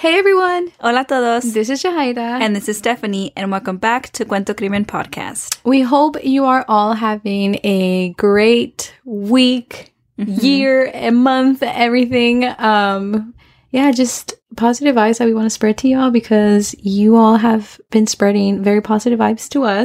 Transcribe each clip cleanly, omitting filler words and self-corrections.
Hey everyone! Hola a todos. This is Jahaira. And this is Stephanie, and welcome back to Cuento Crimen Podcast. We hope you are all having a great week, year, and month, everything. Just positive vibes that we want to spread to y'all because you all have been spreading very positive vibes to us.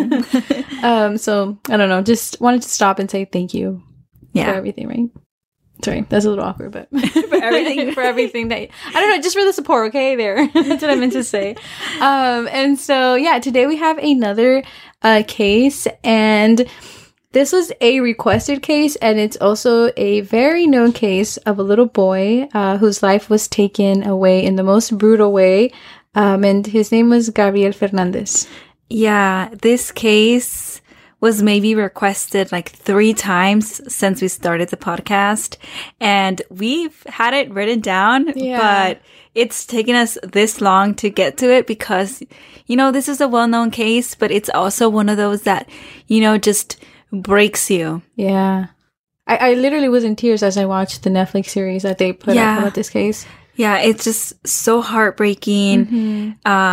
So, I don't know, just wanted to stop and say thank you for everything, right? Sorry, that's a little awkward, but for everything that, I don't know, just for the support, okay? There. That's what I meant to say. And so, today we have another case, and this was a requested case, and it's also a very known case of a little boy whose life was taken away in the most brutal way, and his name was Gabriel Fernandez. Yeah, this case was maybe requested like 3 times since we started the podcast, and we've had it written down, but it's taken us this long to get to it because, this is a well-known case, but it's also one of those that, just breaks you. Yeah. I literally was in tears as I watched the Netflix series that they put up about this case. Yeah, it's just so heartbreaking.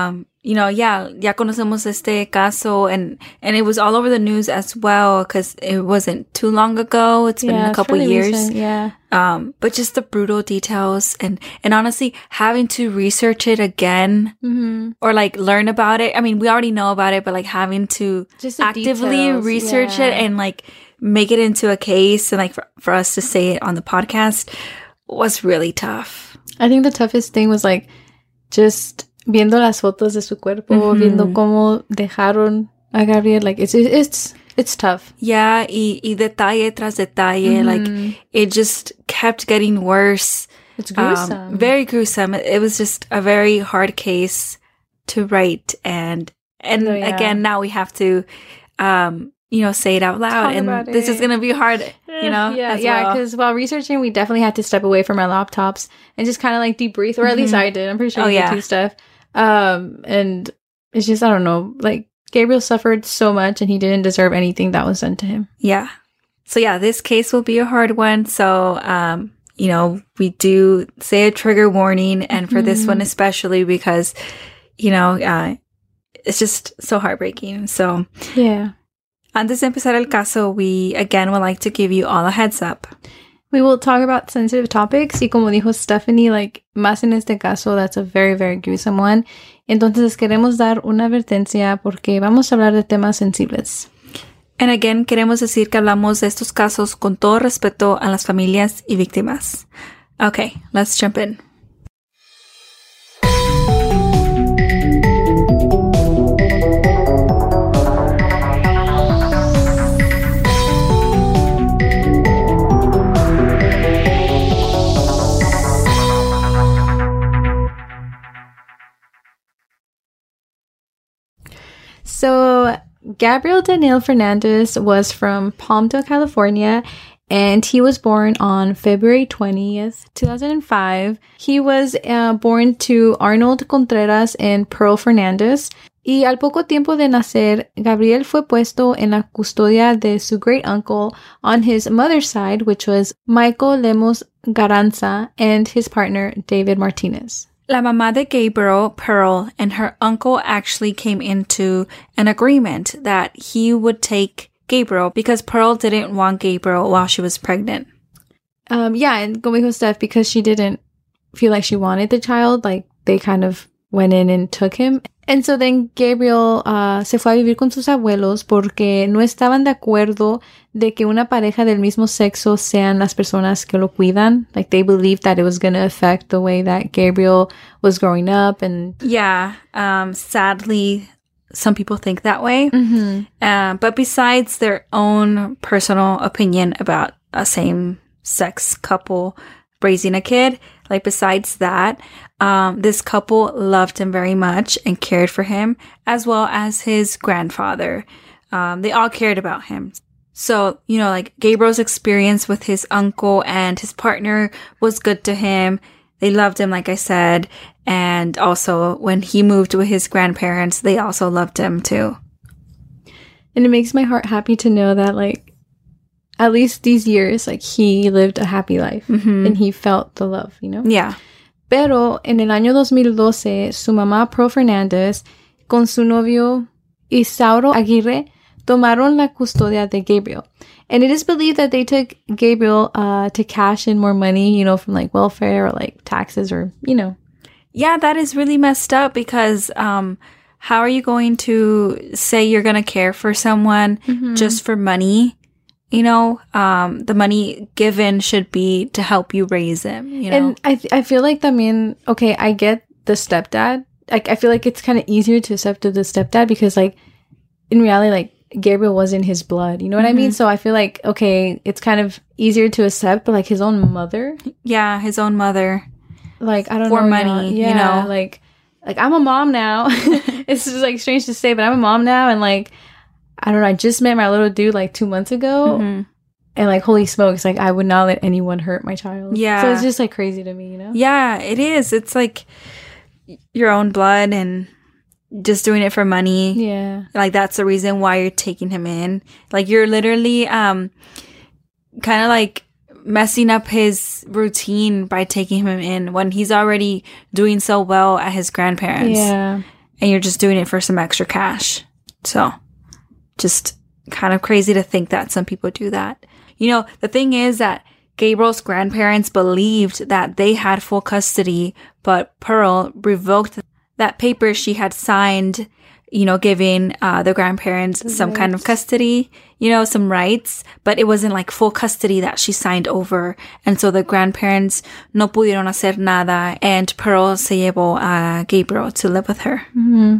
Ya conocemos este caso, and it was all over the news as well because it wasn't too long ago. It's been a couple years. Recent, but just the brutal details and honestly having to research it again or like learn about it. I mean, we already know about it, but like having to just actively research it and like make it into a case and like for us to say it on the podcast was really tough. I think the toughest thing was like just viendo las fotos de su cuerpo, viendo cómo dejaron a Gabriel, like it's tough. Yeah, y detalle tras detalle, like it just kept getting worse. It's gruesome. Very gruesome. It was just a very hard case to write, and again, now we have to, say it out loud, and this is gonna be hard, because while researching, we definitely had to step away from our laptops and just kind of like debrief, or at least I did. I'm pretty sure you did too, stuff. And it's just, I don't know, like Gabriel suffered so much and he didn't deserve anything that was done to him. Yeah. So this case will be a hard one. So, we do say a trigger warning, and for this one especially because, it's just so heartbreaking. So, antes de empezar el caso, we again would like to give you all a heads up. We will talk about sensitive topics, y como dijo Stephanie, like, más en este caso, that's a very, very gruesome one. Entonces, queremos dar una advertencia porque vamos a hablar de temas sensibles. And again, queremos decir que hablamos de estos casos con todo respeto a las familias y víctimas. Okay, let's jump in. So, Gabriel Daniel Fernandez was from Palmdale, California, and he was born on February 20th, 2005. He was born to Arnold Contreras and Pearl Fernandez. Y al poco tiempo de nacer, Gabriel fue puesto en la custodia de su great uncle on his mother's side, which was Michael Lemos Garanza, and his partner, David Martinez. La mamá de Gabriel, Pearl, and her uncle actually came into an agreement that he would take Gabriel because Pearl didn't want Gabriel while she was pregnant. And como dijo Steph, because she didn't feel like she wanted the child, like they kind of went in and took him. And so then Gabriel se fue a vivir con sus abuelos porque no estaban de acuerdo de que una pareja del mismo sexo sean las personas que lo cuidan. Like, they believed that it was going to affect the way that Gabriel was growing up. And sadly, some people think that way. But besides their own personal opinion about a same-sex couple raising a kid, like besides that, this couple loved him very much and cared for him, as well as his grandfather. They all cared about him. So, like Gabriel's experience with his uncle and his partner was good to him. They loved him, like I said. And also when he moved with his grandparents, they also loved him too. And it makes my heart happy to know that, like, at least these years, like, he lived a happy life and he felt the love, Yeah. Pero en el año 2012, su mamá, Pearl Fernández, con su novio Isauro Aguirre, tomaron la custodia de Gabriel. And it is believed that they took Gabriel to cash in more money, you know, from like welfare or like taxes or, you know. Yeah, that is really messed up because how are you going to say you're going to care for someone just for money? You know, the money given should be to help you raise them, you know? And I feel like también, okay, I get the stepdad. Like, I feel like it's kind of easier to accept the stepdad because, like, in reality, like, Gabriel was in his blood. You know what I mean? So I feel like, okay, it's kind of easier to accept, but, like, his own mother? Yeah, his own mother. Like, I don't know. For money, yeah, you know? Like, I'm a mom now. It's just, like, strange to say, but I'm a mom now, and, like, I don't know, I just met my little dude, like, 2 months ago, and, like, holy smokes, like, I would not let anyone hurt my child. Yeah. So it's just, like, crazy to me, you know? Yeah, it is. It's, like, your own blood and just doing it for money. Yeah. Like, that's the reason why you're taking him in. Like, you're literally kind of, like, messing up his routine by taking him in when he's already doing so well at his grandparents. Yeah. And you're just doing it for some extra cash. So, just kind of crazy to think that some people do that. You know, the thing is that Gabriel's grandparents believed that they had full custody, but Pearl revoked that paper she had signed, you know, giving the grandparents some kind of custody, you know, some rights, but it wasn't like full custody that she signed over. And so the grandparents no pudieron hacer nada, and Pearl se llevó a Gabriel to live with her. Mm-hmm.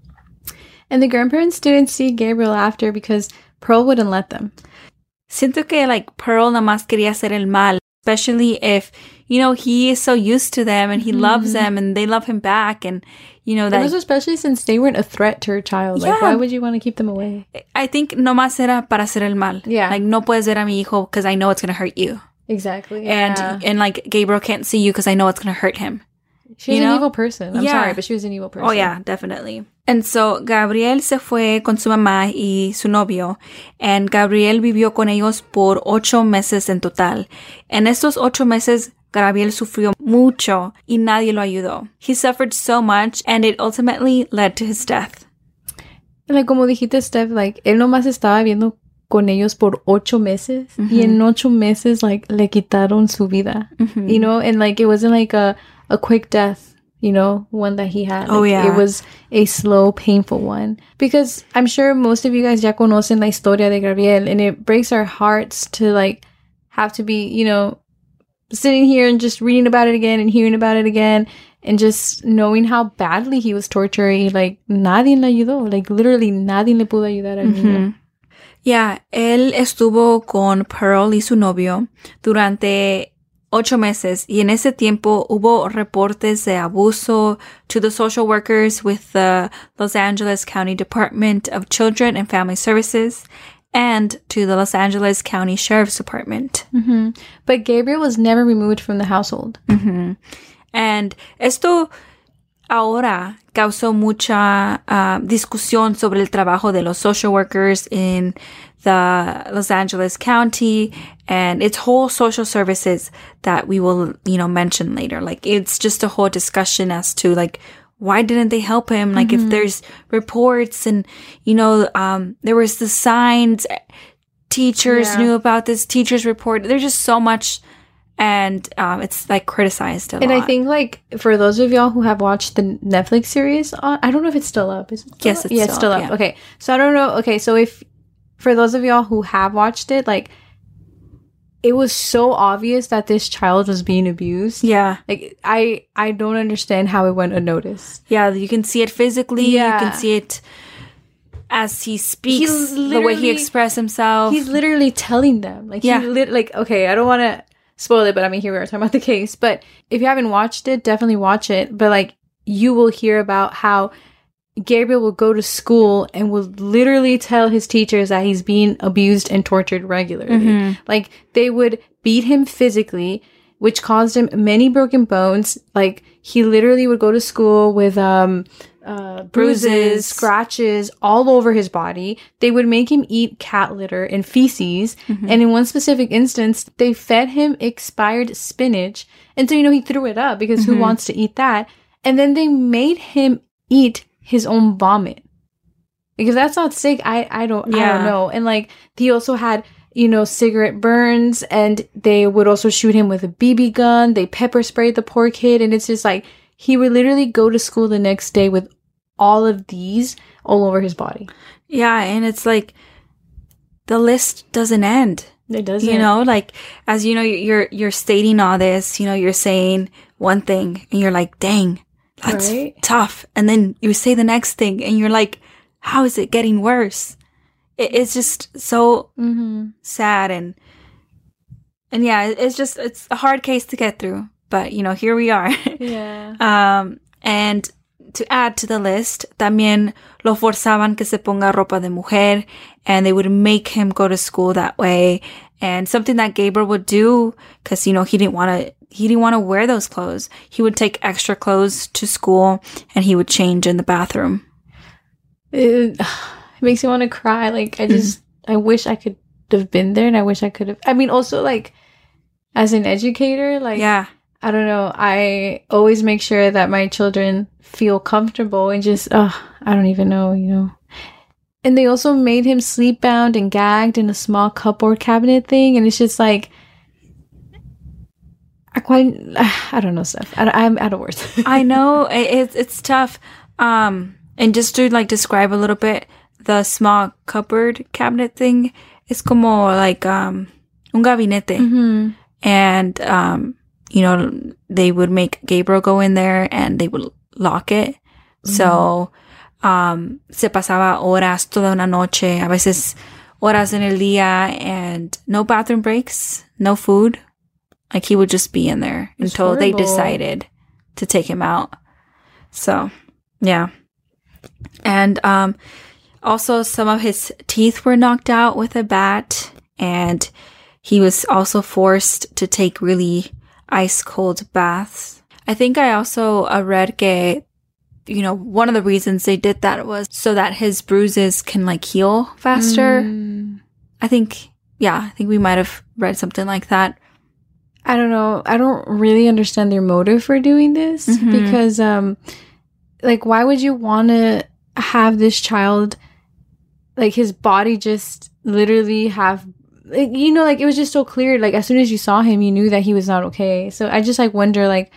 And the grandparents didn't see Gabriel after because Pearl wouldn't let them. Siento que, like, Pearl nada más quería hacer el mal, especially if, you know, he is so used to them and he loves them and they love him back, and, you know, that... And especially since they weren't a threat to her child. Yeah. Like, why would you want to keep them away? I think nomás era para hacer el mal. Yeah. Like, no puedes ver a mi hijo because I know it's going to hurt you. Exactly. And like, Gabriel can't see you because I know it's going to hurt him. She was an evil person. I'm sorry, but she was an evil person. Oh, yeah, definitely. And so, Gabriel se fue con su mamá y su novio. And Gabriel vivió con ellos por 8 meses en total. En estos 8 meses, Gabriel sufrió mucho y nadie lo ayudó. He suffered so much, and it ultimately led to his death. Like, como dijiste, Steph, like, él nomás estaba viviendo con ellos por 8 meses. Y en 8 meses, like, le quitaron su vida. You know? And, like, it wasn't like a quick death, you know, one that he had. Like, it was a slow, painful one. Because I'm sure most of you guys ya conocen la historia de Gabriel, and it breaks our hearts to, like, have to be, you know, sitting here and just reading about it again and hearing about it again and just knowing how badly he was tortured. Like, nadie le ayudó. Like, literally, nadie le pudo ayudar al niño. Yeah, él estuvo con Pearl y su novio durante 8 meses, y en ese tiempo hubo reportes de abuso to the social workers with the Los Angeles County Department of Children and Family Services and to the Los Angeles County Sheriff's Department. But Gabriel was never removed from the household. And esto ahora causó mucha discusión sobre el trabajo de los social workers in the Los Angeles County and its whole social services that we will, you know, mention later. Like, it's just a whole discussion as to, like, why didn't they help him? Like, if there's reports and, you know, there was the signs, teachers knew about this, teachers report. There's just so much, and it's, like, criticized a lot. And I think, like, for those of y'all who have watched the Netflix series, I don't know if it's still up. Is it still yes, up? it's still up. Yeah. Okay, so I don't know. Okay, so if for those of y'all who have watched it, like, it was so obvious that this child was being abused. Yeah. Like, I don't understand how it went unnoticed. Yeah, you can see it physically. Yeah. You can see it as he speaks, the way he expresses himself. He's literally telling them. Like, like, okay, I don't want to spoil it, but I mean, here we are talking about the case. But if you haven't watched it, definitely watch it. But, like, you will hear about how Gabriel will go to school and will literally tell his teachers that he's being abused and tortured regularly. Like, they would beat him physically, which caused him many broken bones. Like, he literally would go to school with bruises, scratches all over his body. They would make him eat cat litter and feces. Mm-hmm. And in one specific instance, they fed him expired spinach. And so, he threw it up because who wants to eat that? And then they made him eat his own vomit. Because that's not sick. I don't know. And like, he also had, cigarette burns, and they would also shoot him with a BB gun. They pepper sprayed the poor kid. And it's just like, he would literally go to school the next day with all of these all over his body. Yeah. And it's like, the list doesn't end. It doesn't. Like, as you're stating all this, you're saying one thing and you're like, dang, that's tough. And then you say the next thing and you're like, how is it getting worse? It's just so sad. And yeah, it's a hard case to get through. But, here we are. Yeah. And to add to the list, también lo forzaban que se ponga ropa de mujer, and they would make him go to school that way. And something that Gabriel would do, because, he didn't want to wear those clothes. He would take extra clothes to school, and he would change in the bathroom. It makes me want to cry. Like, I wish I could have been there, and I wish I could have. I mean, also, like, as an educator, like, yeah. I don't know. I always make sure that my children feel comfortable and just, I don't even know, And they also made him sleep bound and gagged in a small cupboard cabinet thing. And it's just like, I don't know, Steph. I'm out of words. I know. It's tough. And just to like describe a little bit, the small cupboard cabinet thing is como like un gabinete. Mm-hmm. And, they would make Gabriel go in there and they would lock it. Mm-hmm. So, se pasaba horas, toda una noche, a veces horas en el día, and no bathroom breaks, no food. Like, he would just be in there until they decided to take him out. So, yeah. And, also some of his teeth were knocked out with a bat, and he was also forced to take really ice cold baths. I think I also read que, one of the reasons they did that was so that his bruises can like heal faster. I think we might have read something like that. I don't know. I don't really understand their motive for doing this because, like, why would you want to have this child, like, his body just literally have, like, like, it was just so clear. Like, as soon as you saw him, you knew that he was not okay. So I just, like, wonder, like,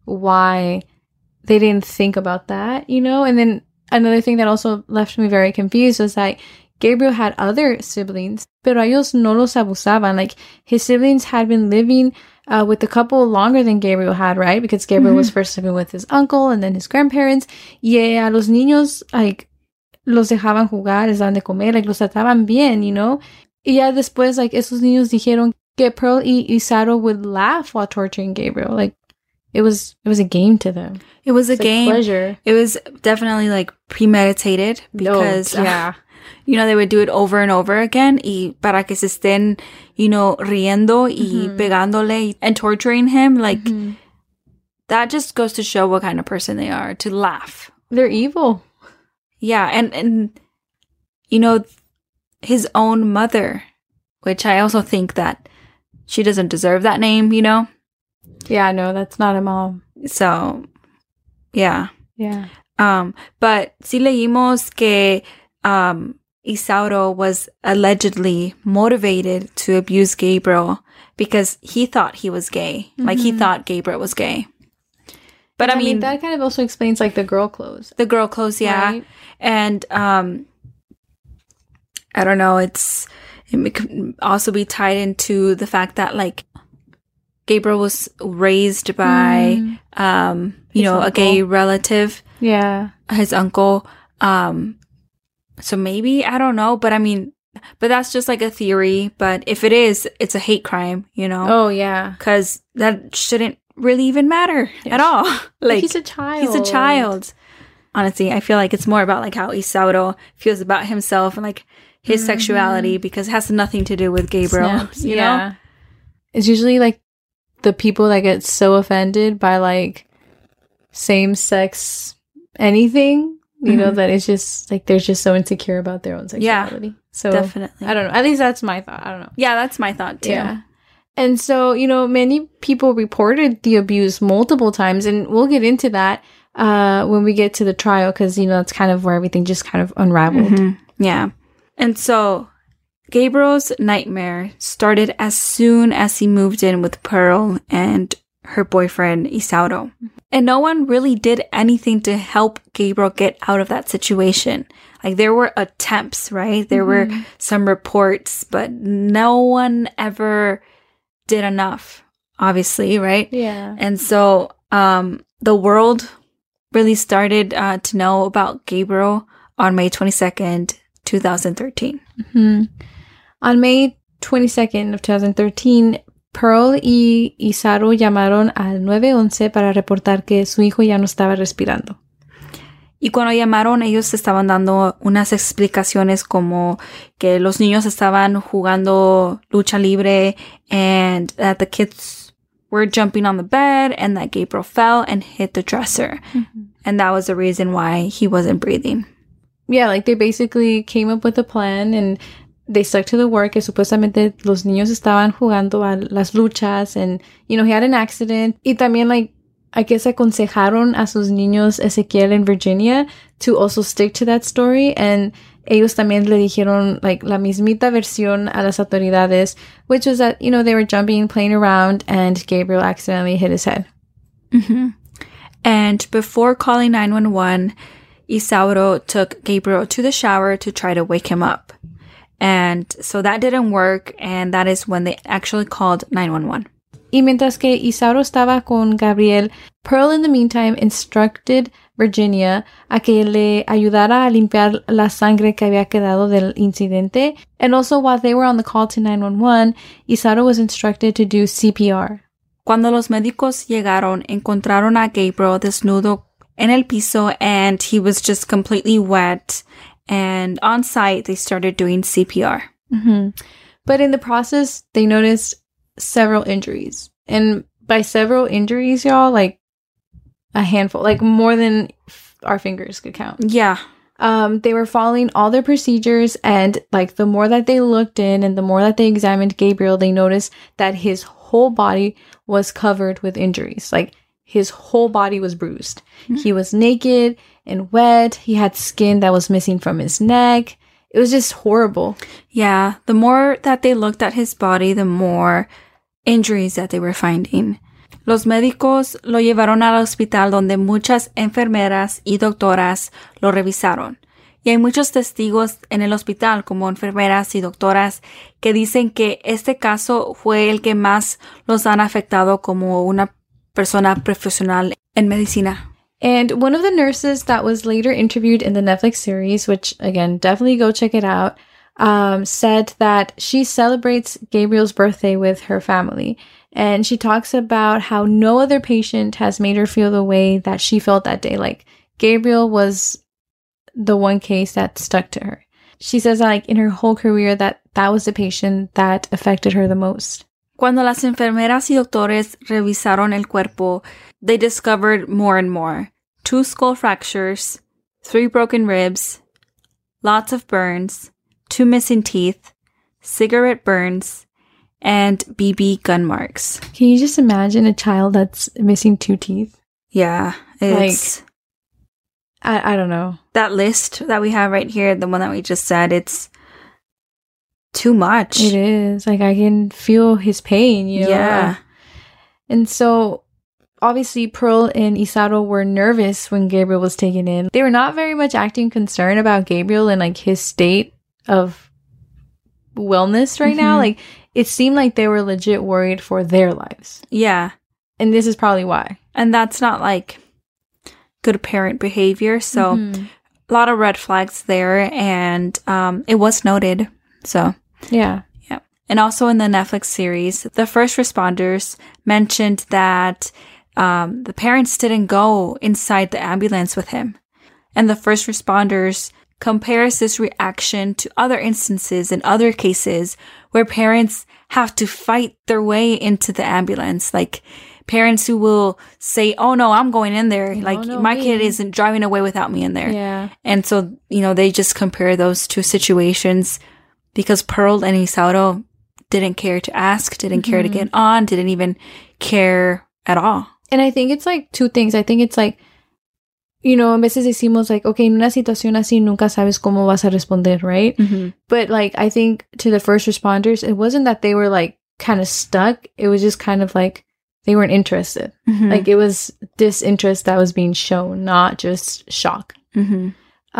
why they didn't think about that, And then another thing that also left me very confused was that Gabriel had other siblings, pero ellos no los abusaban. Like, his siblings had been living with the couple longer than Gabriel had, right? Because Gabriel was first living with his uncle and then his grandparents. Y a los niños, like, los dejaban jugar, les daban de comer, like, los trataban bien, Y ya después, like, esos niños dijeron que Pearl y Isauro would laugh while torturing Gabriel. Like, it was a game to them. It was a game. Pleasure. It was definitely, like, premeditated because, they would do it over and over again y para que se estén, riendo y pegándole and torturing him. Like, that just goes to show what kind of person they are, to laugh. They're evil. Yeah, and his own mother, which I also think that she doesn't deserve that name, Yeah, no, that's not a mom. So, yeah. Yeah. But sí leímos que Isauro was allegedly motivated to abuse Gabriel because he thought he was gay. Like, he thought Gabriel was gay. But I mean, that kind of also explains, like, the girl clothes. The girl clothes, yeah. Right? And I don't know, it could also be tied into the fact that, like, Gabriel was raised by, a gay relative. Yeah. His uncle. So maybe, I don't know, but I mean, but that's just like a theory. But if it is, it's a hate crime, Oh, yeah. Because that shouldn't really even matter at all. Like, he's a child. He's a child. Honestly, I feel like it's more about, like, how Isauro feels about himself and, like, his sexuality, because it has nothing to do with Gabriel. Snaps. You know? It's usually, like, the people that get so offended by, like, same-sex anything You know, that it's just like they're just so insecure about their own sexuality. Yeah, so definitely. I don't know. At least that's my thought. I don't know. Yeah, that's my thought too. Yeah. And so, you know, many people reported the abuse multiple times, and we'll get into that when we get to the trial, because, you know, that's kind of where everything just kind of unraveled. Mm-hmm. Yeah. And so Gabriel's nightmare started as soon as he moved in with Pearl and her boyfriend, Isauro. And no one really did anything to help Gabriel get out of that situation. Like, there were attempts, right? There were some reports, but no one ever did enough, obviously, right? Yeah. And so the world really started to know about Gabriel on May 22nd, 2013. On May 22nd of 2013, Pearl y Isauro llamaron al 911 para reportar que su hijo ya no estaba respirando. Y cuando llamaron, ellos estaban dando unas explicaciones como que los niños estaban jugando lucha libre and that the kids were jumping on the bed and that Gabriel fell and hit the dresser. And that was the reason why he wasn't breathing. Yeah, like they basically came up with a plan and they stuck to the work, que supuestamente los niños estaban jugando a las luchas and, you know, he had an accident. Y también, like, I guess aconsejaron a sus niños Ezequiel and Virginia to also stick to that story. And ellos también le dijeron, like, la mismita versión a las autoridades, which was that, you know, they were jumping, playing around, and Gabriel accidentally hit his head. And before calling 911, Isauro took Gabriel to the shower to try to wake him up. And so that didn't work, and that is when they actually called 911. Y mientras que Isauro estaba con Gabriel, Pearl in the meantime instructed Virginia a que le ayudara a limpiar la sangre que había quedado del incidente. And also, while they were on the call to 911, Isauro was instructed to do CPR. Cuando los médicos llegaron, encontraron a Gabriel desnudo en el piso, and he was just completely wet. And on site, they started doing CPR. But in the process, they noticed several injuries. And by several injuries, y'all, like a handful, like more than our fingers could count. Yeah. They were following all their procedures, and like the more that they looked in and the more that they examined Gabriel, they noticed that his whole body was covered with injuries. Like, his whole body was bruised. He was naked and wet. He had skin that was missing from his neck. It was just horrible. Yeah. The more that they looked at his body, the more injuries that they were finding. Los médicos lo llevaron al hospital donde muchas enfermeras y doctoras lo revisaron. Y hay muchos testigos en el hospital, como enfermeras y doctoras, que dicen que este caso fue el que más los han afectado como una persona profesional en medicina. And one of the nurses that was later interviewed in the Netflix series, which, again, definitely go check it out, said that she celebrates Gabriel's birthday with her family. And she talks about how no other patient has made her feel the way that she felt that day. Like, Gabriel was the one case that stuck to her. She says that, like, in her whole career, that was the patient that affected her the most. Cuando las enfermeras y doctores revisaron el cuerpo, they discovered more and more. 2 skull fractures, 3 broken ribs, lots of burns, 2 missing teeth, cigarette burns, and BB gun marks. Can you just imagine a child that's missing 2 teeth? Yeah, it's... Like, I don't know. That list that we have right here, the one that we just said, it's too much. It is. Like, I can feel his pain, you know? Yeah. And so, obviously, Pearl and Isauro were nervous when Gabriel was taken in. They were not very much acting concerned about Gabriel and, like, his state of wellness right now. Like, it seemed like they were legit worried for their lives. Yeah. And this is probably why. And that's not, like, good parent behavior. So, a lot of red flags there. And it was noted. So, yeah. And also in the Netflix series, the first responders mentioned that the parents didn't go inside the ambulance with him. And the first responders compares this reaction to other instances in other cases where parents have to fight their way into the ambulance. Like, parents who will say, oh no, I'm going in there. Like my kid isn't driving away without me in there. Yeah. And so, they just compare those two situations because Pearl and Isauro didn't care to ask, didn't care to get on, didn't even care at all. And I think it's like two things. I think it's like, a veces decimos like, okay, en una situación así nunca sabes cómo vas a responder, right? Mm-hmm. But like, I think to the first responders, it wasn't that they were like kind of stuck. It was just kind of like they weren't interested. Mm-hmm. Like it was disinterest that was being shown, not just shock. Mm-hmm.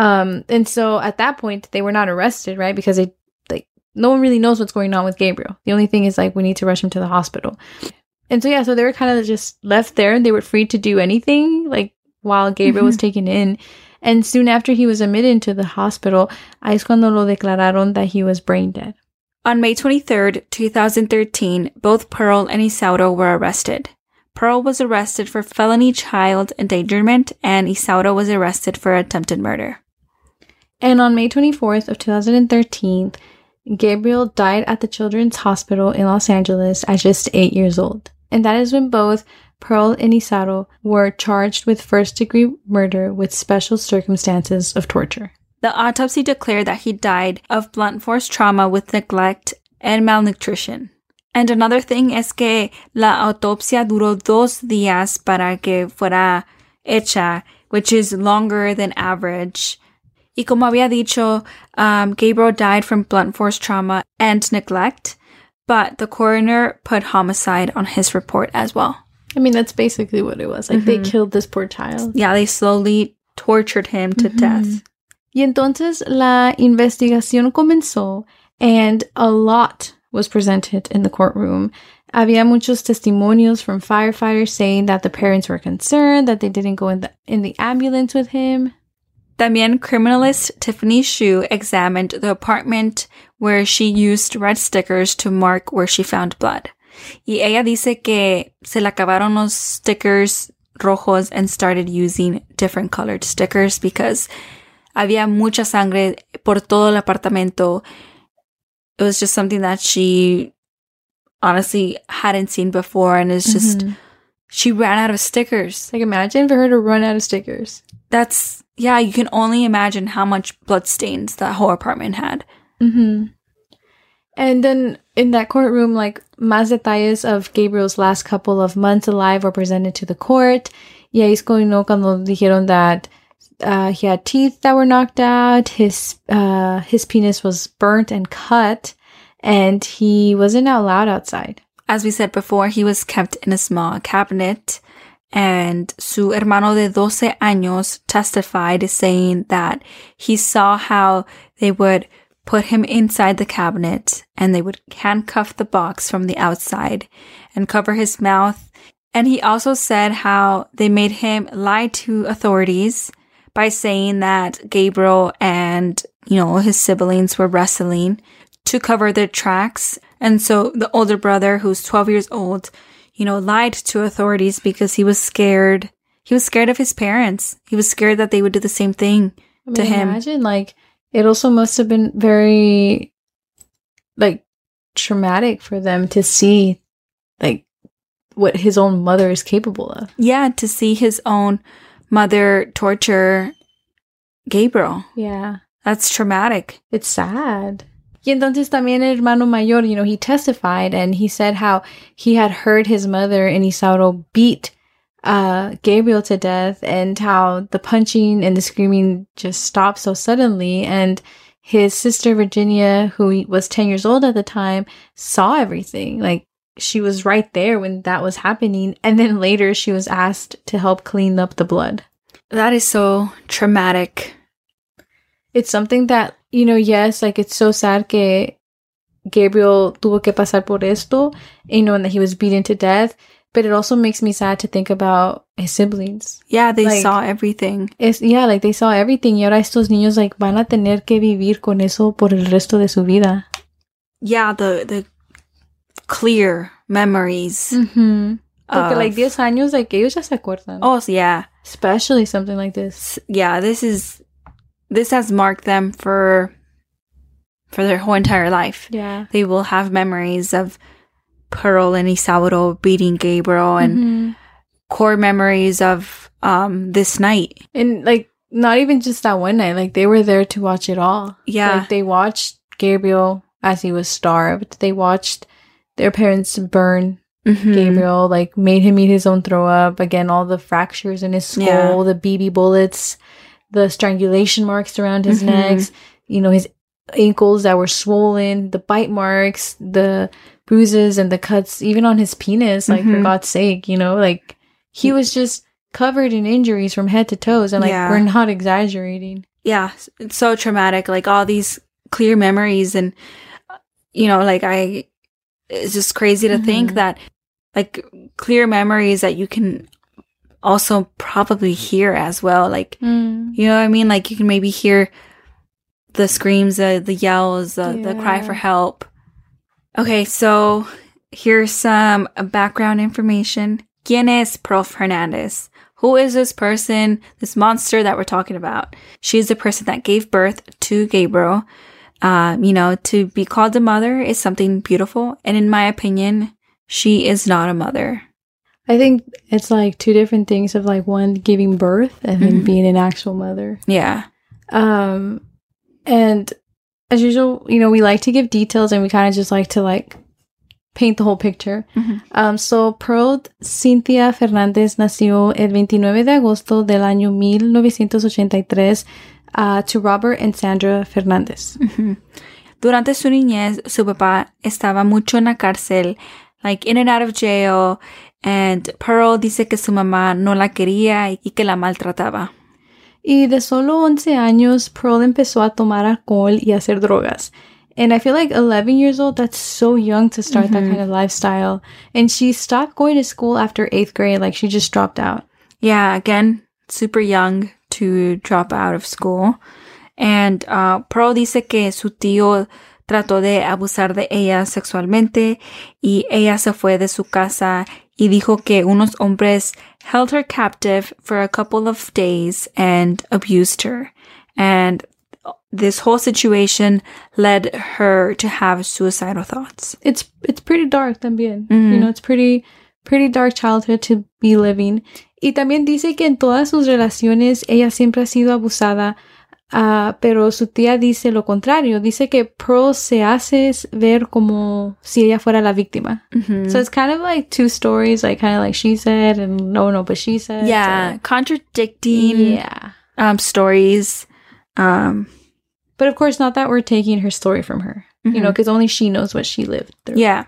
And so at that point, they were not arrested, right? Because no one really knows what's going on with Gabriel. The only thing is like, we need to rush him to the hospital. And so, so they were kind of just left there and they were free to do anything, like while Gabriel was taken in. And soon after he was admitted into the hospital, ahí es cuando lo declararon that he was brain dead. On May 23rd, 2013, both Pearl and Isauro were arrested. Pearl was arrested for felony child endangerment and Isauro was arrested for attempted murder. And on May 24th of 2013, Gabriel died at the Children's Hospital in Los Angeles at just 8 years old. And that is when both Pearl and Isauro were charged with first-degree murder with special circumstances of torture. The autopsy declared that he died of blunt force trauma with neglect and malnutrition. And another thing es que la autopsia duró 2 días para que fuera hecha, which is longer than average. Y como había dicho, Gabriel died from blunt force trauma and neglect, but the coroner put homicide on his report as well. I mean, that's basically what it was. Like, they killed this poor child. Yeah, they slowly tortured him to death. Y entonces la investigación comenzó, and a lot was presented in the courtroom. Había muchos testimonios from firefighters saying that the parents were concerned, that they didn't go in the ambulance with him. También criminalist Tiffany Shu examined the apartment where she used red stickers to mark where she found blood. Y ella dice que se le acabaron los stickers rojos and started using different colored stickers because había mucha sangre por todo el apartamento. It was just something that she honestly hadn't seen before, and it's just, she ran out of stickers. Like, imagine for her to run out of stickers. Yeah, you can only imagine how much blood stains that whole apartment had. Mm-hmm. And then in that courtroom, like, más detalles of Gabriel's last couple of months alive were presented to the court. Y ahí es cuando dijeron that he had teeth that were knocked out, his penis was burnt and cut, and he wasn't allowed outside. As we said before, he was kept in a small cabinet, and su hermano de 12 años testified saying that he saw how they would put him inside the cabinet and they would handcuff the box from the outside and cover his mouth. And he also said how they made him lie to authorities by saying that Gabriel and, his siblings were wrestling to cover their tracks. And so the older brother, who's 12 years old, lied to authorities because he was scared. He was scared of his parents. He was scared that they would do the same thing to him. Imagine, like, it also must have been very, like, traumatic for them to see, like, what his own mother is capable of. Yeah, to see his own mother torture Gabriel. Yeah. That's traumatic. It's sad. Y entonces también el hermano mayor, he testified and he said how he had heard his mother and Isauro beat Gabriel to death and how the punching and the screaming just stopped so suddenly. And his sister Virginia, who was 10 years old at the time, saw everything. Like, she was right there when that was happening. And then later she was asked to help clean up the blood. That is so traumatic. It's something that, yes, like, it's so sad que Gabriel tuvo que pasar por esto, and that he was beaten to death. But it also makes me sad to think about his siblings. Yeah, they saw everything. Like, they saw everything. Y ahora estos niños, like, van a tener que vivir con eso por el resto de su vida. Yeah, the clear memories. Mm-hmm. Porque, like, 10 años, like, ellos ya se acuerdan. Oh, yeah. Especially something like this. Yeah, this has marked them for their whole entire life. Yeah. They will have memories of Pearl and Isauro beating Gabriel and core memories of this night. And like, not even just that one night, like they were there to watch it all. Yeah. Like they watched Gabriel as he was starved. They watched their parents burn Gabriel, like made him eat his own throw up. Again, all the fractures in his skull, the BB bullets, the strangulation marks around his necks, you know, his ankles that were swollen, the bite marks, the bruises and the cuts, even on his penis, like for God's sake, you know, like he was just covered in injuries from head to toes. And like, we're not exaggerating. Yeah. It's so traumatic. Like all these clear memories and, you know, like it's just crazy to think that like clear memories that you can also probably hear as well. Like, you know what I mean? Like you can maybe hear the screams, the yells, the cry for help. Okay, so here's some background information. ¿Quién es Pearl Hernandez? Who is this person, this monster that we're talking about? She's the person that gave birth to Gabriel. You know, to be called a mother is something beautiful. And in my opinion, she is not a mother. I think it's like two different things of like one giving birth and then being an actual mother. Yeah. And as usual, you know, we like to give details and we kind of just like to like paint the whole picture. So Pearl Cynthia Fernández nació el 29 de agosto del año 1983 to Robert and Sandra Fernández. Durante su niñez, su papá estaba mucho en la cárcel, like in and out of jail, and Pearl dice que su mamá no la quería y que la maltrataba. Y de solo 11 años, Pearl empezó a tomar alcohol y a hacer drogas. And I feel like 11 years old, that's so young to start that kind of lifestyle. And she stopped going to school after 8th grade. Like, she just dropped out. Yeah, again, super young to drop out of school. And Pearl dice que su tío trató de abusar de ella sexualmente y ella se fue de su casa y dijo que unos hombres held her captive for a couple of days and abused her. And this whole situation led her to have suicidal thoughts. It's pretty dark también. You know, it's pretty dark childhood to be living. Y también dice que en todas sus relaciones ella siempre ha sido abusada, pero su tía dice lo contrario. Dice que Pearl se hace ver como si ella fuera la víctima. So it's kind of like two stories, like kind of like she said and no, but she said. Yeah, contradicting stories. But of course, not that we're taking her story from her, you know, because only she knows what she lived through. Yeah.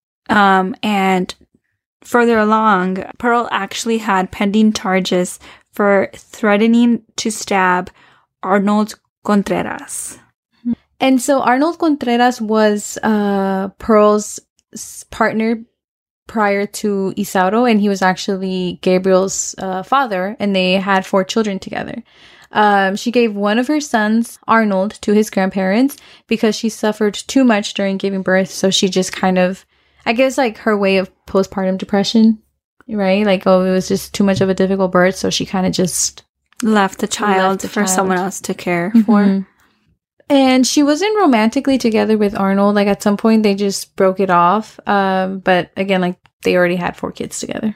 And further along, Pearl actually had pending charges for threatening to stab Arnold Contreras. And so Arnold Contreras was Pearl's partner prior to Isauro, and he was actually Gabriel's father, and they had 4 children together. She gave one of her sons, Arnold, to his grandparents because she suffered too much during giving birth. So she just kind of, I guess, like her way of postpartum depression, right? Like, oh, it was just too much of a difficult birth. So she kind of just left the child for someone else to care for. And she wasn't romantically together with Arnold. Like, at some point, they just broke it off. But again, like, they already had 4 kids together.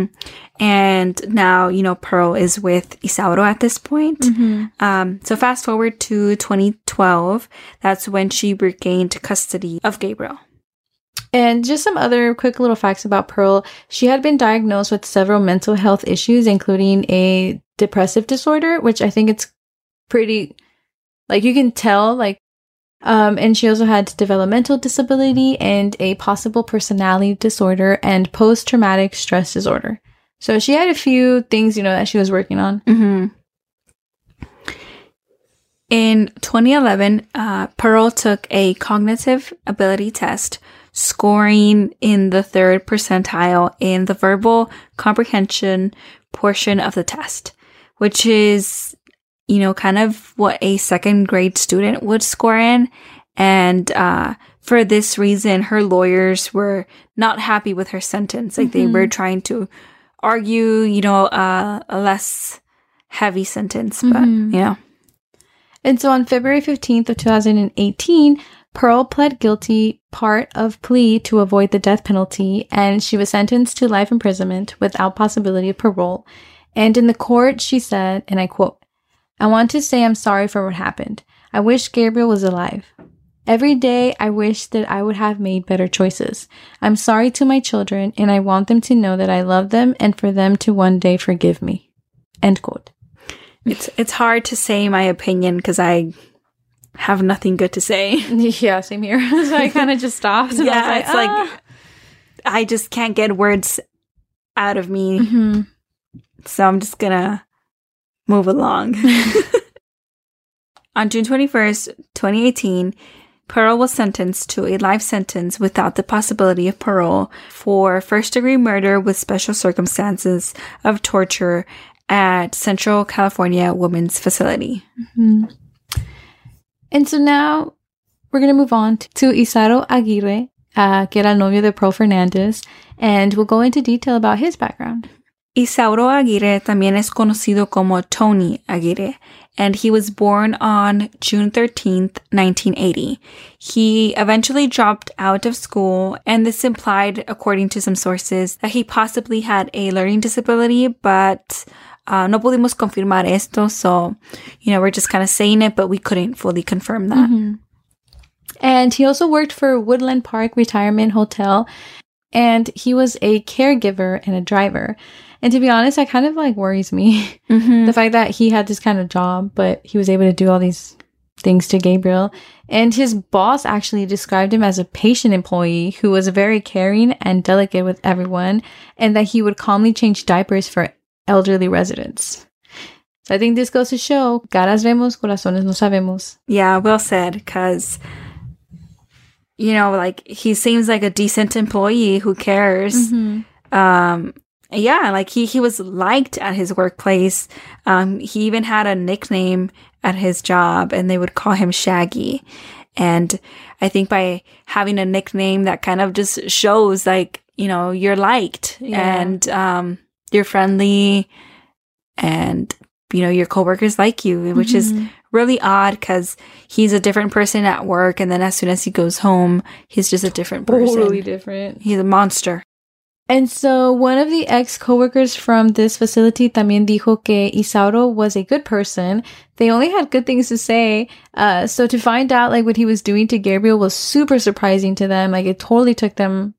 And now, you know, Pearl is with Isauro at this point. So fast forward to 2012. That's when she regained custody of Gabriel. And just some other quick little facts about Pearl. She had been diagnosed with several mental health issues, including a depressive disorder, which I think it's pretty, like, you can tell, like, and she also had developmental disability and a possible personality disorder and post-traumatic stress disorder. So she had a few things, you know, that she was working on. In 2011, Pearl took a cognitive ability test, scoring in the 3rd percentile in the verbal comprehension portion of the test, which is, you know, kind of what a 2nd grade student would score in. And for this reason, her lawyers were not happy with her sentence. Like, they were trying to argue, you know, a less heavy sentence, but, you know. And so on February 15th of 2018, Pearl pled guilty part of plea to avoid the death penalty, and she was sentenced to life imprisonment without possibility of parole. And in the court, she said, and I quote, "I want to say I'm sorry for what happened. I wish Gabriel was alive. Every day, I wish that I would have made better choices. I'm sorry to my children, and I want them to know that I love them and for them to one day forgive me." End quote. It's hard to say my opinion because I have nothing good to say. Yeah, same here. So I kind of just stopped. And yeah, I was like, it's like I just can't get words out of me. Mm-hmm. So I'm just gonna move along. On June 21st, 2018, Pearl was sentenced to a life sentence without the possibility of parole for first-degree murder with special circumstances of torture at Central California Women's Facility. Mm-hmm. And so now we're going to move on to Isauro Aguirre, que era el novio de Pearl Fernandez, and we'll go into detail about his background. Isauro Aguirre también es conocido como Tony Aguirre, and he was born on June 13th, 1980. He eventually dropped out of school, and this implied, according to some sources, that he possibly had a learning disability, but no pudimos confirmar esto, so, we're just kind of saying it, but we couldn't fully confirm that. Mm-hmm. And he also worked for Woodland Park Retirement Hotel, and he was a caregiver and a driver. And to be honest, that kind of worries me. Mm-hmm. The fact that he had this kind of job, but he was able to do all these things to Gabriel. And his boss actually described him as a patient employee who was very caring and delicate with everyone, and that he would calmly change diapers for elderly residents. So I think this goes to show, caras vemos, corazones no sabemos. Yeah, well said, because, he seems like a decent employee who cares. Mm-hmm. Yeah, he was liked at his workplace. He even had a nickname at his job, and they would call him Shaggy. And I think by having a nickname, that kind of just shows, you're liked, yeah. And you're friendly, and, your coworkers like you, which is really odd because he's a different person at work, and then as soon as he goes home, he's just a different person. Totally different. He's a monster. And so one of the ex-coworkers from this facility también dijo que Isauro was a good person. They only had good things to say. So to find out what he was doing to Gabriel was super surprising to them. It totally took them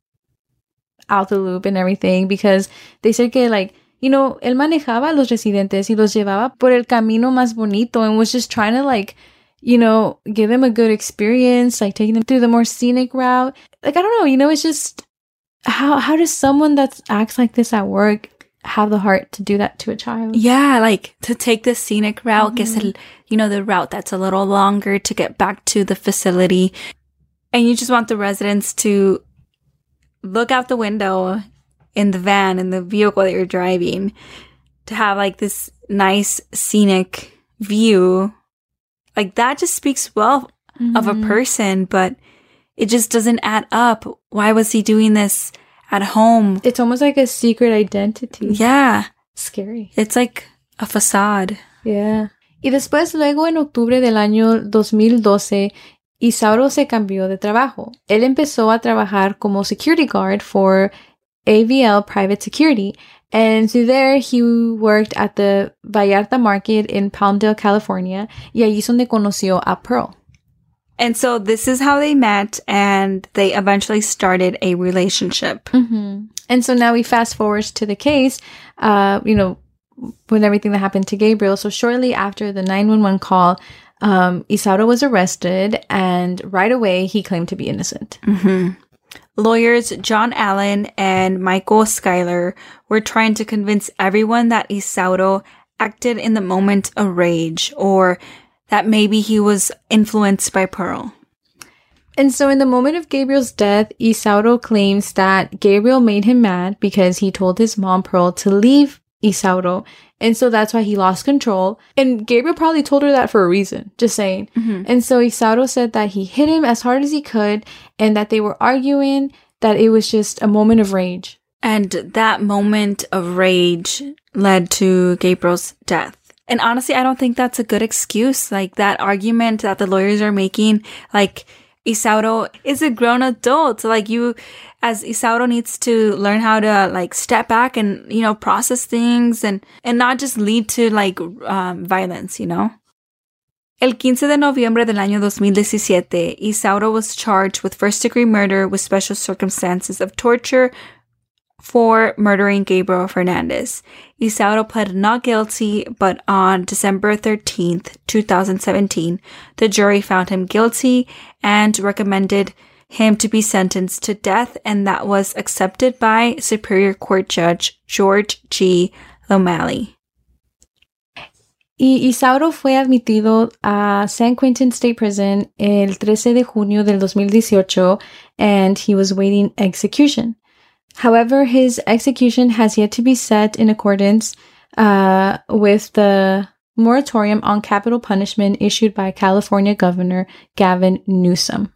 out the loop and everything, because they said que él manejaba a los residentes y los llevaba por el camino más bonito and was just trying to give them a good experience, taking them through the more scenic route. I don't know, it's just How does someone that acts like this at work have the heart to do that to a child? Yeah, to take the scenic route, que es the route that's a little longer to get back to the facility. And you just want the residents to look out the window in the van, in the vehicle that you're driving, to have this nice scenic view. That just speaks well of a person, but it just doesn't add up. Why was he doing this at home? It's almost like a secret identity. Yeah. Scary. It's like a facade. Yeah. Y después, luego en octubre del año 2012, Isauro se cambió de trabajo. Él empezó a trabajar como security guard for AVL Private Security. And so there he worked at the Vallarta Market in Palmdale, California. Y allí es donde conoció a Pearl. And so this is how they met, and they eventually started a relationship. Mm-hmm. And so now we fast forward to the case, with everything that happened to Gabriel. So shortly after the 911 call, Isauro was arrested, and right away he claimed to be innocent. Mm-hmm. Lawyers John Allen and Michael Schuyler were trying to convince everyone that Isauro acted in the moment of rage, or that maybe he was influenced by Pearl. And so in the moment of Gabriel's death, Isauro claims that Gabriel made him mad because he told his mom, Pearl, to leave Isauro. And so that's why he lost control. And Gabriel probably told her that for a reason, just saying. Mm-hmm. And so Isauro said that he hit him as hard as he could, and that they were arguing, that it was just a moment of rage. And that moment of rage led to Gabriel's death. And honestly, I don't think that's a good excuse. That argument that the lawyers are making, Isauro is a grown adult. So, like, you, as Isauro, needs to learn how to, like, step back and, you know, process things and not just lead to, like, violence, you know? El 15 de noviembre del año 2017, Isauro was charged with first-degree murder with special circumstances of torture for murdering Gabriel Fernandez. Isauro pled not guilty, but on December 13th, 2017, the jury found him guilty and recommended him to be sentenced to death, and that was accepted by Superior Court Judge George G. O'Malley. Y Isauro fue admitido a San Quentin State Prison el 13 de junio del 2018, and he was waiting execution. However, his execution has yet to be set in accordance with the moratorium on capital punishment issued by California Governor Gavin Newsom.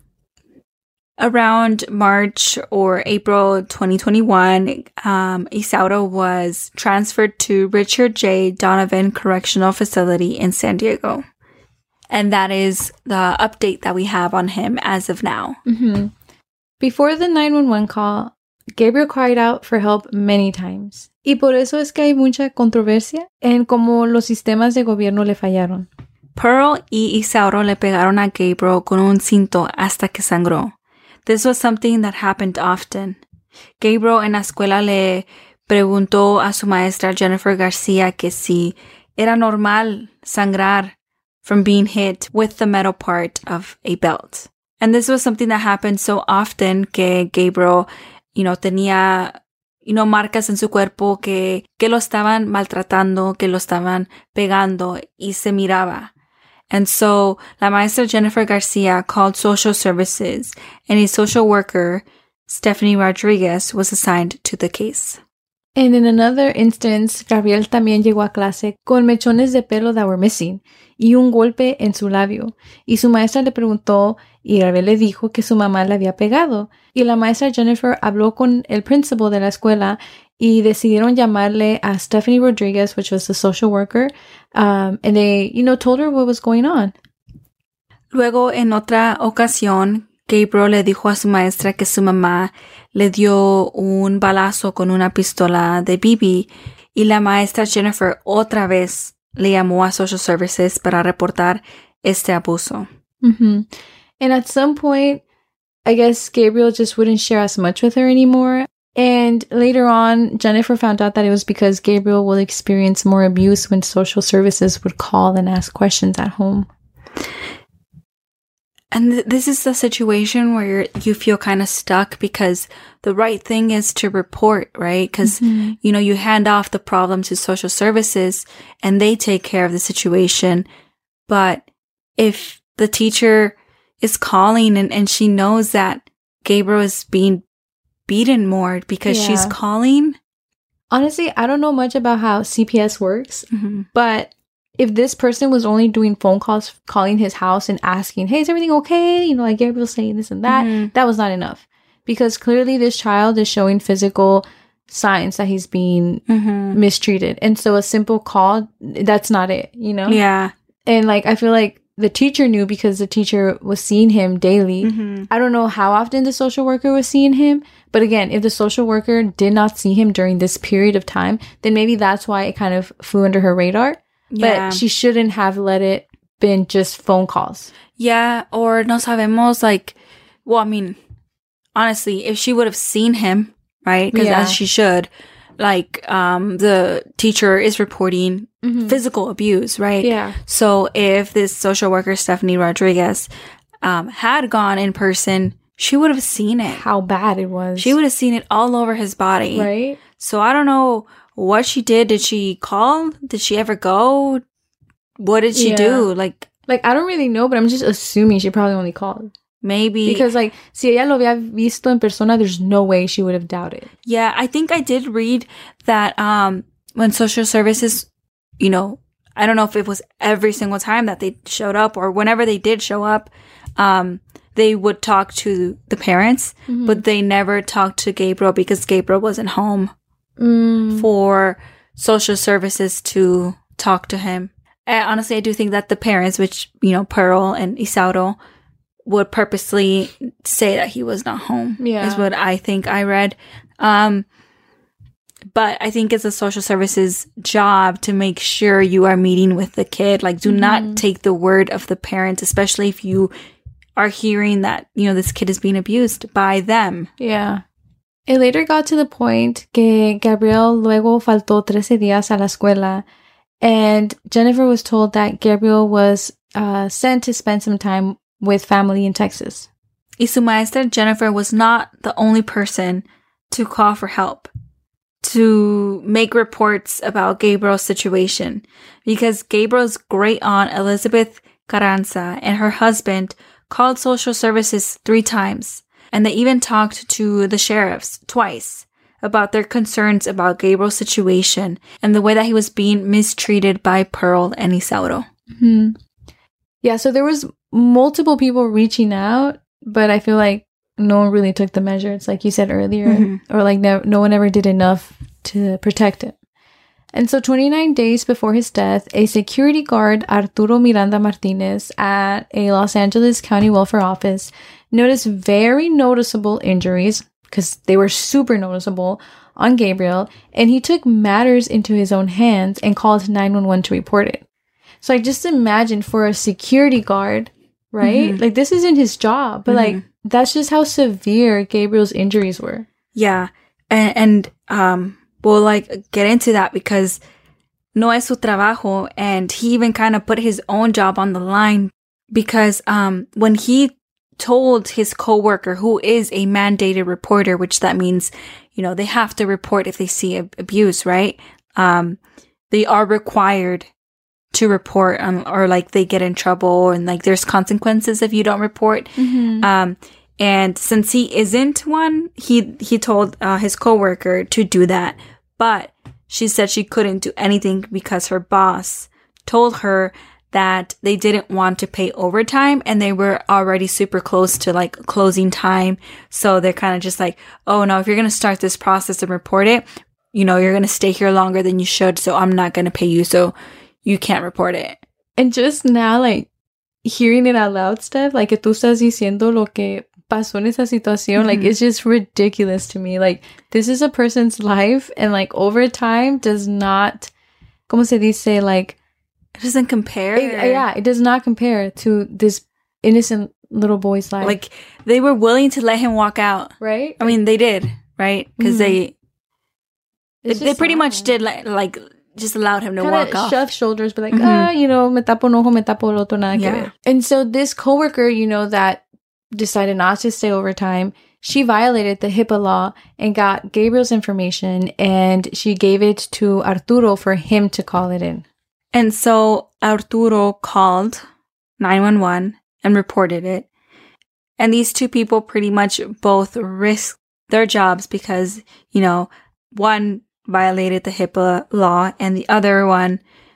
Around March or April 2021, Isauro was transferred to Richard J. Donovan Correctional Facility in San Diego. And that is the update that we have on him as of now. Mm-hmm. Before the 911 call, Gabriel cried out for help many times. Y por eso es que hay mucha controversia en cómo los sistemas de gobierno le fallaron. Pearl y Isauro le pegaron a Gabriel con un cinto hasta que sangró. This was something that happened often. Gabriel en la escuela le preguntó a su maestra Jennifer Garcia que si era normal sangrar from being hit with the metal part of a belt. And this was something that happened so often que Gabriel, you know, tenía, you know, marcas en su cuerpo que lo estaban maltratando, que lo estaban pegando y se miraba. And so la maestra Jennifer Garcia called social services, and a social worker, Stephanie Rodriguez, was assigned to the case. And in another instance, Gabriel también llegó a clase con mechones de pelo that were missing y un golpe en su labio. Y su maestra le preguntó y Gabriel le dijo que su mamá le había pegado. Y la maestra Jennifer habló con el principal de la escuela y decidieron llamarle a Stephanie Rodriguez, which was the social worker, and they, you know, told her what was going on. Luego, en otra ocasión, Gabriel le dijo a su maestra que su mamá le dio un balazo con una pistola de BB y la maestra Jennifer otra vez le llamó a Social Services para reportar este abuso. Mm-hmm. And at some point, I guess Gabriel just wouldn't share as much with her anymore. And later on, Jennifer found out that it was because Gabriel would experience more abuse when social services would call and ask questions at home. And this is the situation where you feel kind of stuck because the right thing is to report, right? Because, mm-hmm. you know, you hand off the problem to social services and they take care of the situation. But if the teacher is calling and she knows that Gabriel is being beaten more because she's calling. Honestly, I don't know much about how CPS works, mm-hmm. but if this person was only doing phone calls, calling his house and asking, hey, is everything okay? You know, like Gabriel's saying this and that, mm-hmm. that was not enough. Because clearly this child is showing physical signs that he's being mm-hmm. mistreated. And so a simple call, that's not it, you know? Yeah. And like, I feel like the teacher knew because the teacher was seeing him daily. Mm-hmm. I don't know how often the social worker was seeing him. But again, if the social worker did not see him during this period of time, then maybe that's why it kind of flew under her radar. Yeah. But she shouldn't have let it been just phone calls. Yeah, or no sabemos, like, well, I mean, honestly, if she would have seen him, right? Because as she should, like, the teacher is reporting mm-hmm. physical abuse, right? Yeah. So if this social worker, Stephanie Rodriguez, had gone in person, she would have seen it. How bad it was. She would have seen it all over his body. Right? So I don't know what she did. Did she call? Did she ever go? What did she do? Like, I don't really know, but I'm just assuming she probably only called. Maybe. Because, like, si ella lo había visto en persona, there's no way she would have doubted. Yeah, I think I did read that when social services, you know, I don't know if it was every single time that they showed up or whenever they did show up, they would talk to the parents, mm-hmm. but they never talked to Gabriel because Gabriel wasn't home for social services to talk to him. Honestly, I do think that the parents, which, you know, Pearl and Isauro, would purposely say that he was not home. Yeah. Is what I think I read. But I think it's a social services job to make sure you are meeting with the kid. Like, do not take the word of the parents, especially if you are hearing that, you know, this kid is being abused by them. Yeah. It later got to the point que Gabriel luego faltó 13 días a la escuela, and Jennifer was told that Gabriel was sent to spend some time with family in Texas. Y su maestra, Jennifer, was not the only person to call for help, to make reports about Gabriel's situation, because Gabriel's great aunt, Elizabeth Carranza, and her husband called social services 3 times, and they even talked to the sheriffs twice about their concerns about Gabriel's situation and the way that he was being mistreated by Pearl and Isauro. Mm-hmm. Yeah, so there was multiple people reaching out, but I feel like no one really took the measures, like you said earlier, or like no one ever did enough to protect him. And so 29 days before his death, a security guard, Arturo Miranda Martinez, at a Los Angeles County Welfare Office noticed very noticeable injuries, because they were super noticeable, on Gabriel, and he took matters into his own hands and called 911 to report it. So I just imagine for a security guard, right? Like, this isn't his job, but like, that's just how severe Gabriel's injuries were. Yeah. And we'll like get into that because no es su trabajo, and he even kind of put his own job on the line because when he told his coworker, who is a mandated reporter, which that means, you know, they have to report if they see abuse, right? They are required to report or like they get in trouble and like there's consequences if you don't report. And since he isn't one, he told his coworker to do that. But she said she couldn't do anything because her boss told her that they didn't want to pay overtime and they were already super close to like closing time. So they're kind of just like, oh no, if you're going to start this process and report it, you know, you're going to stay here longer than you should. So I'm not going to pay you. So you can't report it. And just now, like, hearing it out loud, Steph, like, que tú estás diciendo lo que pasó en esa situación, like, it's just ridiculous to me. Like, this is a person's life, and, like, overtime does not, ¿cómo se dice? Like, it doesn't compare. It does not compare to this innocent little boy's life. Like, they were willing to let him walk out. Right? I mean, they did, right? Because they pretty much did, like just allowed him to walk off. Shove shoulders, but like, you know, me tapo un ojo, me tapo el otro, nada que ver. And so this coworker, you know, that decided not to stay overtime, she violated the HIPAA law and got Gabriel's information, and she gave it to Arturo for him to call it in. And so Arturo called 911 and reported it. And these two people pretty much both risked their jobs because, you know, one violated the HIPAA law and the other one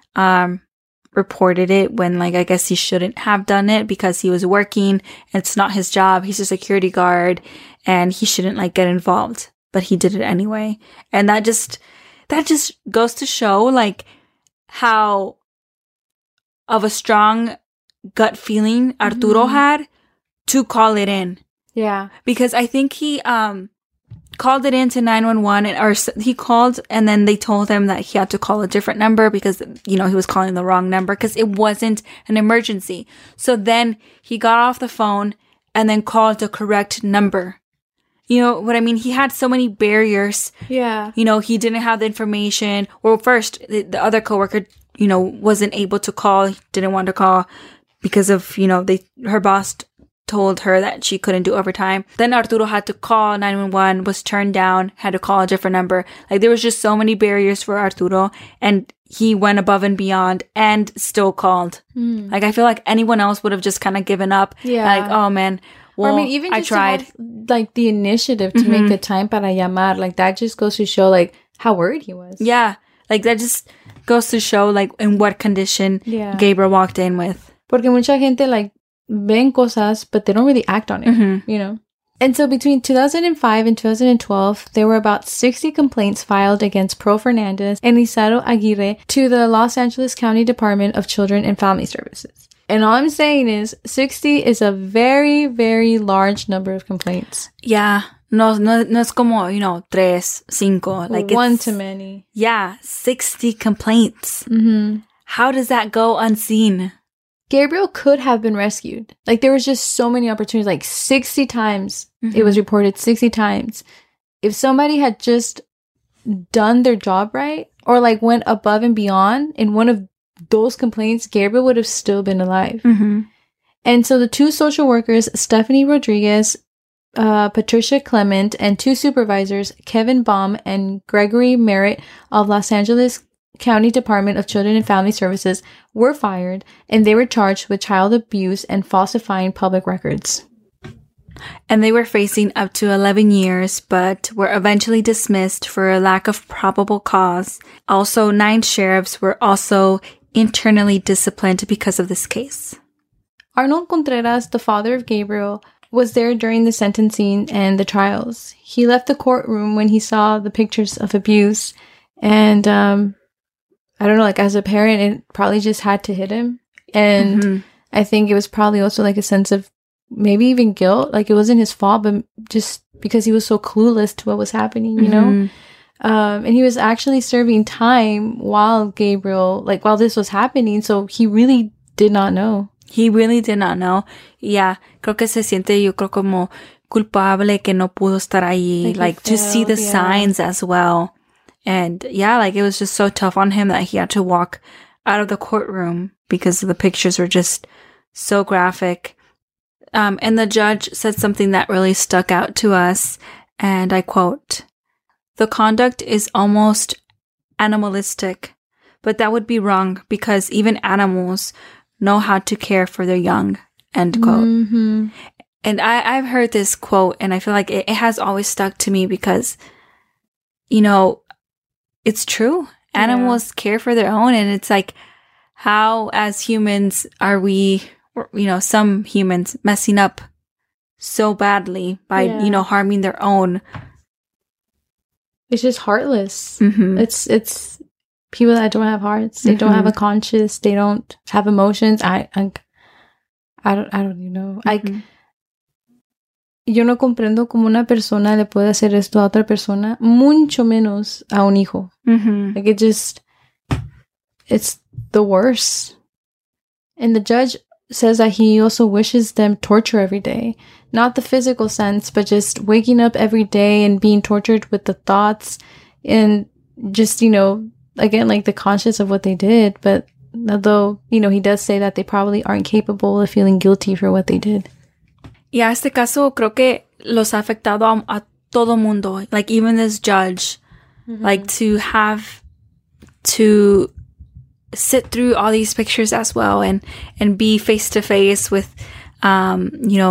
reported it when, like, I guess he shouldn't have done it because he was working. It's not his job. He's a security guard and he shouldn't, like, get involved. But he did it anyway. And that just goes to show, like, how of a strong gut feeling Arturo had to call it in. Yeah. Because I think he called it into 911 or he called and then they told him that he had to call a different number because, you know, he was calling the wrong number because it wasn't an emergency. So then he got off the phone and then called the correct number. You know what I mean? He had so many barriers. Yeah. You know, he didn't have the information. Well, first, the other coworker, you know, wasn't able to call, didn't want to call because of, you know, her boss told her that she couldn't do overtime. Then Arturo had to call 911, was turned down, had to call a different number. Like, there was just so many barriers for Arturo, and he went above and beyond and still called. Like, I feel like anyone else would have just kind of given up. Yeah. Like, oh man, well, or I mean, even just I tried. To have, like, the initiative to make the time para llamar, like, that just goes to show, like, how worried he was. Yeah. Like, that just goes to show, like, in what condition Gabriel walked in with. Porque mucha gente, like, ven cosas, but they don't really act on it, you know? And so between 2005 and 2012, there were about 60 complaints filed against Pearl Fernandez and Isauro Aguirre to the Los Angeles County Department of Children and Family Services. And all I'm saying is 60 is a very, very large number of complaints. Yeah. No es como, 3, 5. Like one too many. Yeah. 60 complaints. Mm-hmm. How does that go unseen? Gabriel could have been rescued. Like, there was just so many opportunities. Like, 60 times. It was reported 60 times. If somebody had just done their job right, or like went above and beyond in one of those complaints, Gabriel would have still been alive. Mm-hmm. And so the 2 social workers, Stephanie Rodriguez, Patricia Clement, and 2 supervisors, Kevin Baum and Gregory Merritt of Los Angeles County Department of Children and Family Services, were fired, and they were charged with child abuse and falsifying public records. And they were facing up to 11 years, but were eventually dismissed for a lack of probable cause. Also, 9 sheriffs were also internally disciplined because of this case. Arnold Contreras, the father of Gabriel, was there during the sentencing and the trials. He left the courtroom when he saw the pictures of abuse, and I don't know, like, as a parent, it probably just had to hit him. And I think it was probably also like a sense of maybe even guilt. Like, it wasn't his fault, but just because he was so clueless to what was happening, you know? And he was actually serving time while this was happening. So he really did not know. He really did not know. Yeah, creo que se siente, yo creo, como culpable que no pudo estar ahí. Like to see the signs as well. And yeah, like, it was just so tough on him that he had to walk out of the courtroom because the pictures were just so graphic. And the judge said something that really stuck out to us, and I quote, "The conduct is almost animalistic, but that would be wrong because even animals know how to care for their young," end quote. Mm-hmm. And I've heard this quote, and I feel like it has always stuck to me because, it's true. Animals care for their own, and it's like, how as humans are we, some humans messing up so badly by, harming their own. It's just heartless. Mm-hmm. It's people that don't have hearts. They don't have a conscience. They don't have emotions. I don't even know. Yo no comprendo cómo una persona le puede hacer esto a otra persona, mucho menos a un hijo. Like, it's the worst. And the judge says that he also wishes them torture every day. Not the physical sense, but just waking up every day and being tortured with the thoughts and just, again, like, the conscience of what they did. But although, he does say that they probably aren't capable of feeling guilty for what they did. Y a este caso creo que los ha afectado a todo mundo. Like, even this judge, like, to have to sit through all these pictures as well and be face to face with, Pearl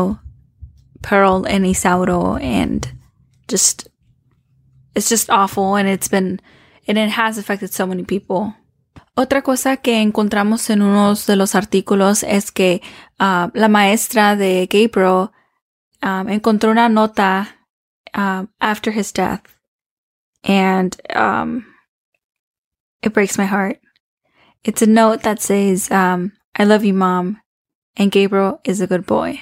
and Isauro, and just, it's just awful, and it has affected so many people. Otra cosa que encontramos en unos de los artículos es que la maestra de Gabriel encontró una nota after his death, and it breaks my heart. It's a note that says, "I love you, Mom, and Gabriel is a good boy."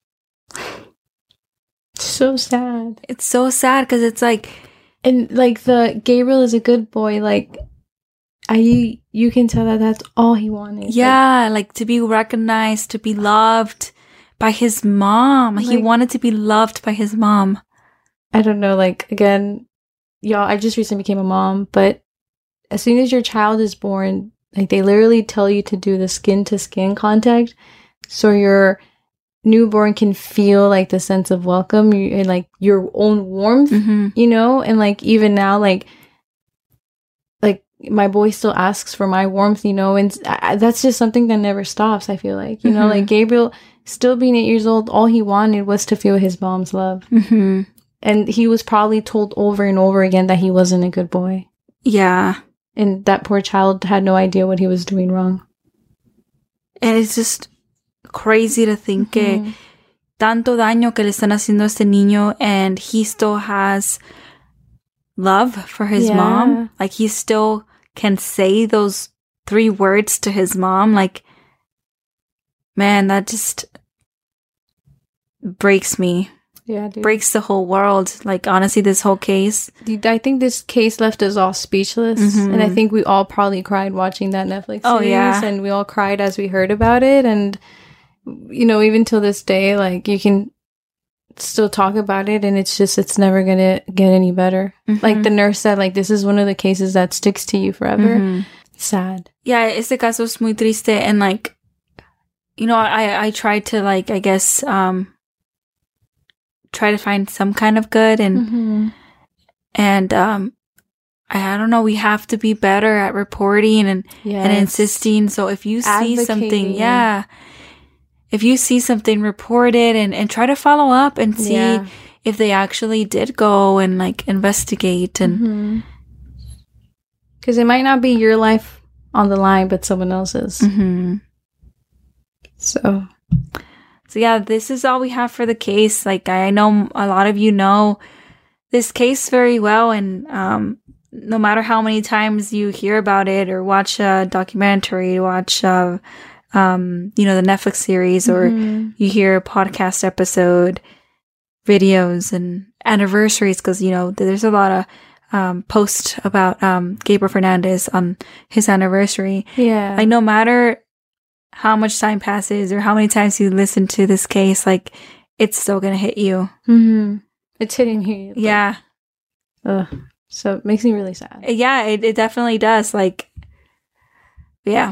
So sad. It's so sad because it's like, and like, the Gabriel is a good boy, like, you can tell that that's all he wanted. Yeah, like to be recognized, to be loved by his mom. Like, he wanted to be loved by his mom. I don't know, like, again, y'all, I just recently became a mom, but as soon as your child is born, like, they literally tell you to do the skin-to-skin contact so your newborn can feel, like, the sense of welcome and, like, your own warmth, and, like, even now, like, my boy still asks for my warmth, and that's just something that never stops, I feel like. Like, Gabriel, still being 8 years old, all he wanted was to feel his mom's love. And he was probably told over and over again that he wasn't a good boy. Yeah. And that poor child had no idea what he was doing wrong. And it's just crazy to think que tanto daño que le están haciendo a este niño, and he still has love for his mom. Like, he still can say those 3 words to his mom. Like, man, that just breaks me. Yeah, dude. Breaks the whole world. Like, honestly, this whole case. Dude, I think this case left us all speechless. Mm-hmm. And I think we all probably cried watching that Netflix series. Oh, yeah. And we all cried as we heard about it. And, you know, even till this day, like, you can still talk about it. And it's never going to get any better. Mm-hmm. Like the nurse said, like, this is one of the cases that sticks to you forever. Mm-hmm. Sad. Yeah, este caso es muy triste. And, like, you know, I tried to, like, I guess, try to find some kind of good and I don't know, we have to be better at reporting and insisting. So if you see something, if you see something, report it and try to follow up and see if they actually did go and like investigate and because it might not be your life on the line but someone else's. So yeah, this is all we have for the case. Like, I know a lot of you know this case very well, and no matter how many times you hear about it or watch a documentary, watch you know, the Netflix series, or you hear a podcast episode, videos and anniversaries, because, you know, there's a lot of posts about Gabriel Fernandez on his anniversary. Yeah. Like, no matter how much time passes or how many times you listen to this case, like, it's still gonna hit you. It's hitting me. Yeah. So it makes me really sad. Yeah, it definitely does. Like, yeah.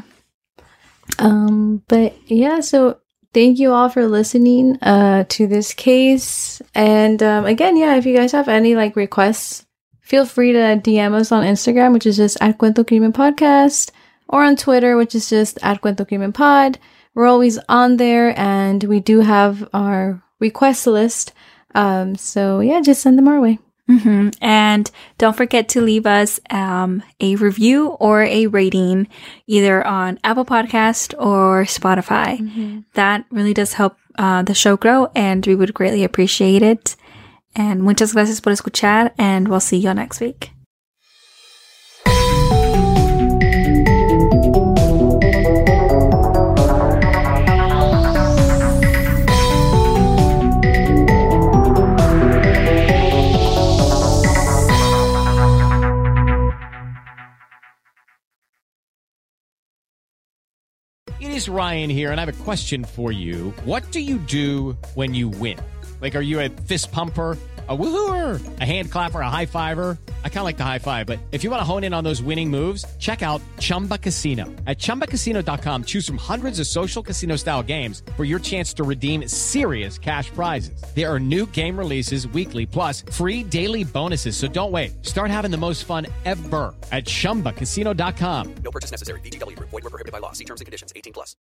But yeah, so thank you all for listening to this case. And again, yeah, if you guys have any like requests, feel free to DM us on Instagram, which is just @Cuento Crimen Podcast. Or on Twitter, which is just @Cuento Crimen Pod. We're always on there, and we do have our request list. So yeah, just send them our way. And don't forget to leave us a review or a rating, either on Apple Podcast or Spotify. That really does help the show grow, and we would greatly appreciate it. And muchas gracias por escuchar, and we'll see you next week. It is Ryan here, and I have a question for you. What do you do when you win? Like, are you a fist pumper, a woohooer, a hand clapper, a high fiver? I kind of like the high five, but if you want to hone in on those winning moves, check out Chumba Casino. At ChumbaCasino.com, choose from hundreds of social casino-style games for your chance to redeem serious cash prizes. There are new game releases weekly, plus free daily bonuses. So don't wait. Start having the most fun ever at ChumbaCasino.com. No purchase necessary. VGW. Void where prohibited by law. See terms and conditions. 18+.